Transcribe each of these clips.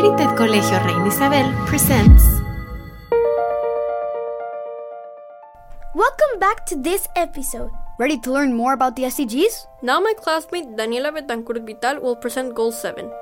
Heritage Colegio Reina Isabel presents. Welcome back to this episode. Ready to learn more about the SDGs? Now my classmate Daniela Betancourt Vital will present Goal 7.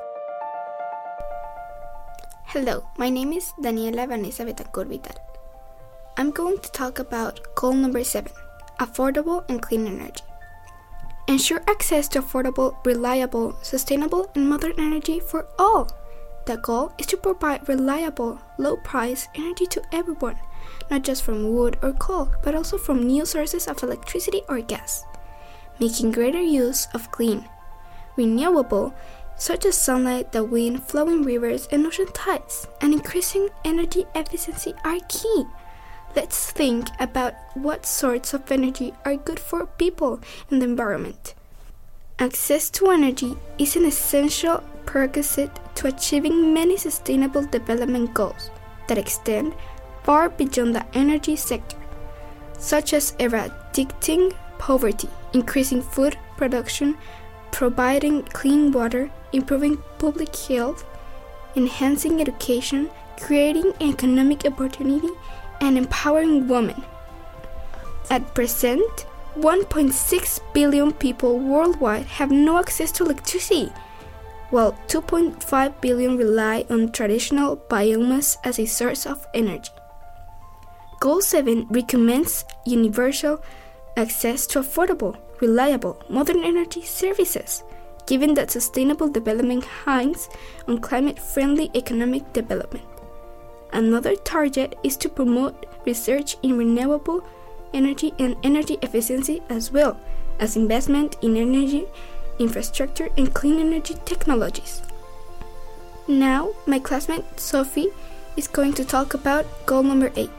Hello, my name is Daniela Vanessa Betancourt Vital. I'm going to talk about goal number 7, affordable and clean energy. Ensure access to affordable, reliable, sustainable, and modern energy for all. The goal is to provide reliable, low-price energy to everyone, not just from wood or coal, but also from new sources of electricity or gas, making greater use of clean, renewable, such as sunlight, the wind, flowing rivers, and ocean tides, and increasing energy efficiency are key. Let's think about what sorts of energy are good for people and the environment. Access to energy is an essential prerequisite to achieving many sustainable development goals that extend far beyond the energy sector, such as eradicating poverty, increasing food production, providing clean water, improving public health, enhancing education, creating economic opportunity, and empowering women. At present, 1.6 billion people worldwide have no access to electricity, while 2.5 billion rely on traditional biomass as a source of energy. Goal 7 recommends universal access to affordable, reliable, modern energy services, given that sustainable development hinges on climate-friendly economic development. Another target is to promote research in renewable energy and energy efficiency, as well as investment in energy infrastructure and clean energy technologies. Now, my classmate Sophie is going to talk about goal number 8.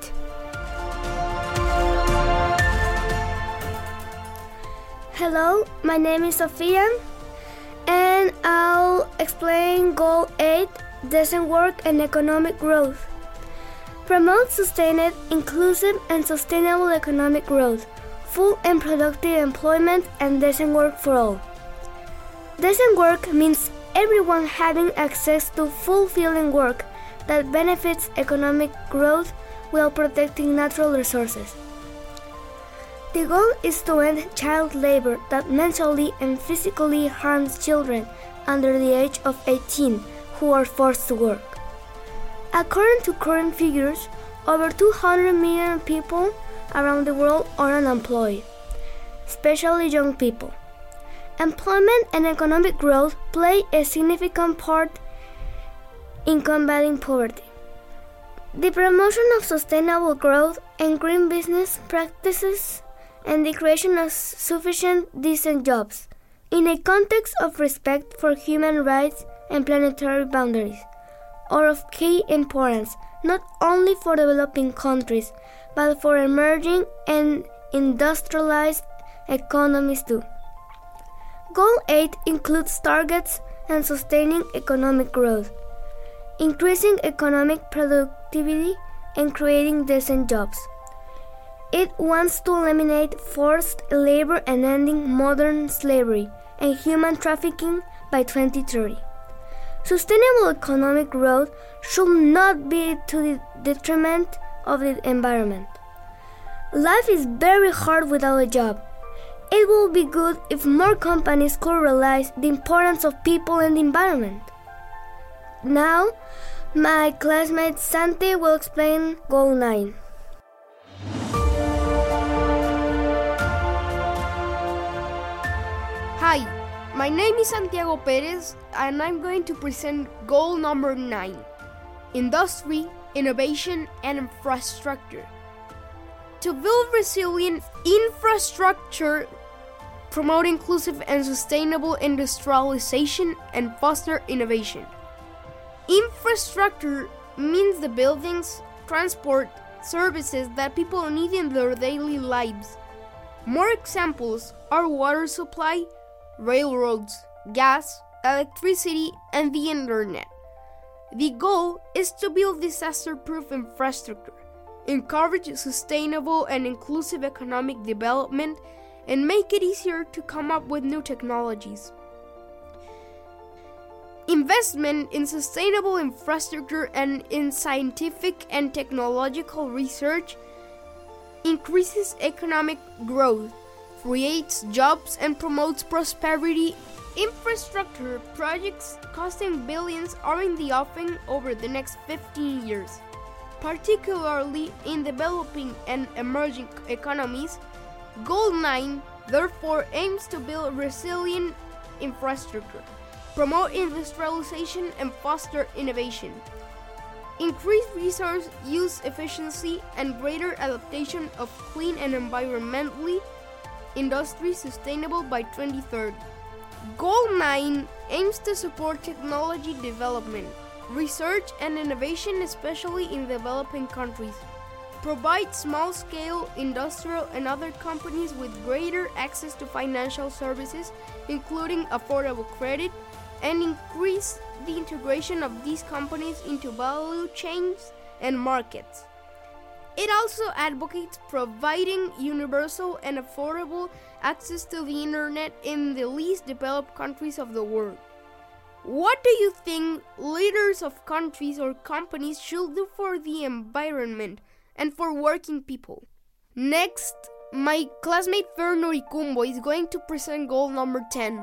Hello, my name is Sofia, and I'll explain Goal 8, decent work and economic growth. Promote sustained, inclusive, and sustainable economic growth, full and productive employment, and decent work for all. Decent work means everyone having access to fulfilling work that benefits economic growth while protecting natural resources. The goal is to end child labor that mentally and physically harms children under the age of 18 who are forced to work. According to current figures, over 200 million people around the world are unemployed, especially young people. Employment and economic growth play a significant part in combating poverty. The promotion of sustainable growth and green business practices and the creation of sufficient decent jobs in a context of respect for human rights and planetary boundaries are of key importance not only for developing countries but for emerging and industrialized economies too. Goal 8 includes targets and sustaining economic growth, increasing economic productivity, and creating decent jobs. It wants to eliminate forced labor and ending modern slavery and human trafficking by 2030. Sustainable economic growth should not be to the detriment of the environment. Life is very hard without a job. It would be good if more companies could realize the importance of people and the environment. Now, my classmate Santi will explain Goal 9. Hi, my name is Santiago Perez, and I'm going to present goal number 9, industry, innovation, and infrastructure. To build resilient infrastructure, promote inclusive and sustainable industrialization, and foster innovation. Infrastructure means the buildings, transport, services that people need in their daily lives. More examples are water supply, railroads, gas, electricity, and the internet. The goal is to build disaster-proof infrastructure, encourage sustainable and inclusive economic development, and make it easier to come up with new technologies. Investment in sustainable infrastructure and in scientific and technological research increases economic growth, creates jobs, and promotes prosperity. Infrastructure projects costing billions are in the offing over the next 15 years. Particularly in developing and emerging economies, Goal 9 therefore aims to build resilient infrastructure, promote industrialization, and foster innovation. Increase resource use efficiency and greater adaptation of clean and environmentally industry sustainable by 2030. Goal 9 aims to support technology development, research and innovation, especially in developing countries, provide small-scale industrial and other companies with greater access to financial services, including affordable credit, and increase the integration of these companies into value chains and markets. It also advocates providing universal and affordable access to the internet in the least developed countries of the world. What do you think leaders of countries or companies should do for the environment and for working people? Next, my classmate Fer Noricumbo is going to present goal number 10.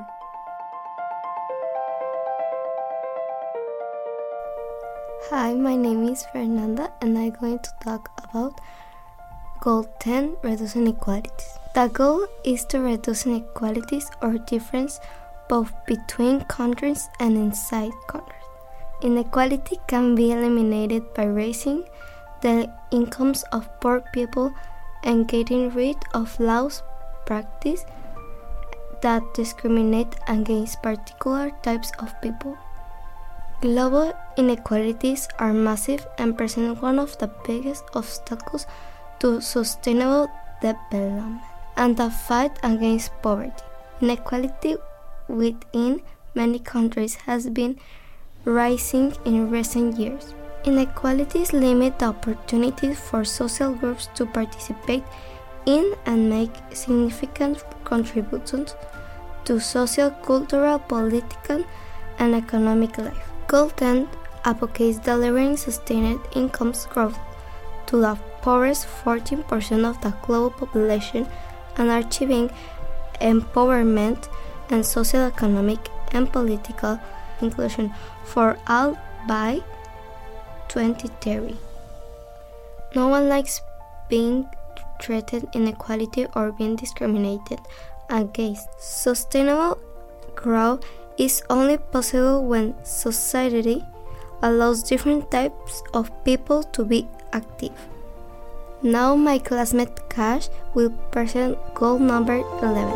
Hi, my name is Fernanda and I'm going to talk about Goal 10, Reduce Inequalities. The goal is to reduce inequalities or difference both between countries and inside countries. Inequality can be eliminated by raising the incomes of poor people and getting rid of laws practices that discriminate against particular types of people. Global inequalities are massive and present one of the biggest obstacles to sustainable development and the fight against poverty. Inequality within many countries has been rising in recent years. Inequalities limit the opportunities for social groups to participate in and make significant contributions to social, cultural, political, and economic life. Goal 10 advocates delivering sustained incomes growth to the poorest 14% of the global population and achieving empowerment and social, economic, and political inclusion for all by 2030. No one likes being treated inequality or being discriminated against. Sustainable growth is only possible when society allows different types of people to be active. Now my classmate Cash will present goal number 11.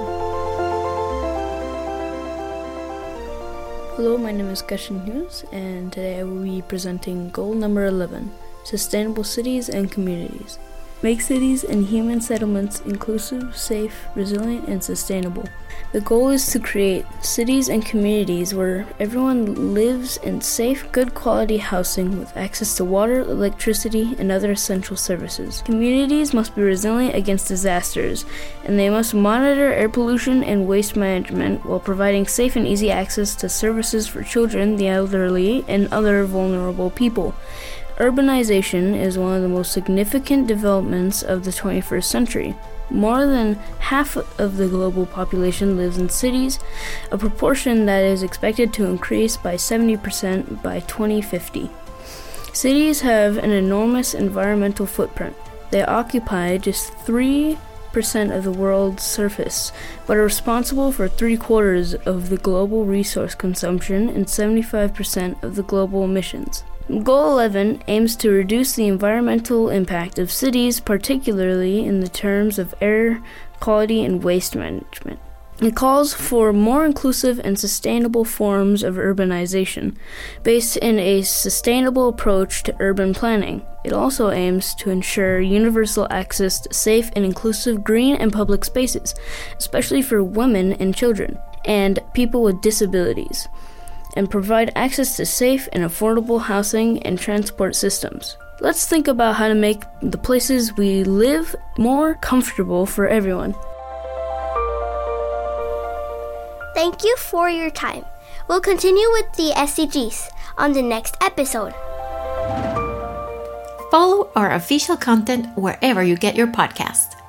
Hello, my name is Cashin Hughes, and today I will be presenting goal number 11, Sustainable Cities and Communities. Make cities and human settlements inclusive, safe, resilient, and sustainable. The goal is to create cities and communities where everyone lives in safe, good quality housing with access to water, electricity, and other essential services. Communities must be resilient against disasters, and they must monitor air pollution and waste management while providing safe and easy access to services for children, the elderly, and other vulnerable people. Urbanization is one of the most significant developments of the 21st century. More than half of the global population lives in cities, a proportion that is expected to increase by 70% by 2050. Cities have an enormous environmental footprint. They occupy just 3% of the world's surface, but are responsible for 3/4 of the global resource consumption and 75% of the global emissions. Goal 11 aims to reduce the environmental impact of cities, particularly in the terms of air quality and waste management. It calls for more inclusive and sustainable forms of urbanization, based in a sustainable approach to urban planning. It also aims to ensure universal access to safe and inclusive green and public spaces, especially for women and children, and people with disabilities, and provide access to safe and affordable housing and transport systems. Let's think about how to make the places we live more comfortable for everyone. Thank you for your time. We'll continue with the SDGs on the next episode. Follow our official content wherever you get your podcast.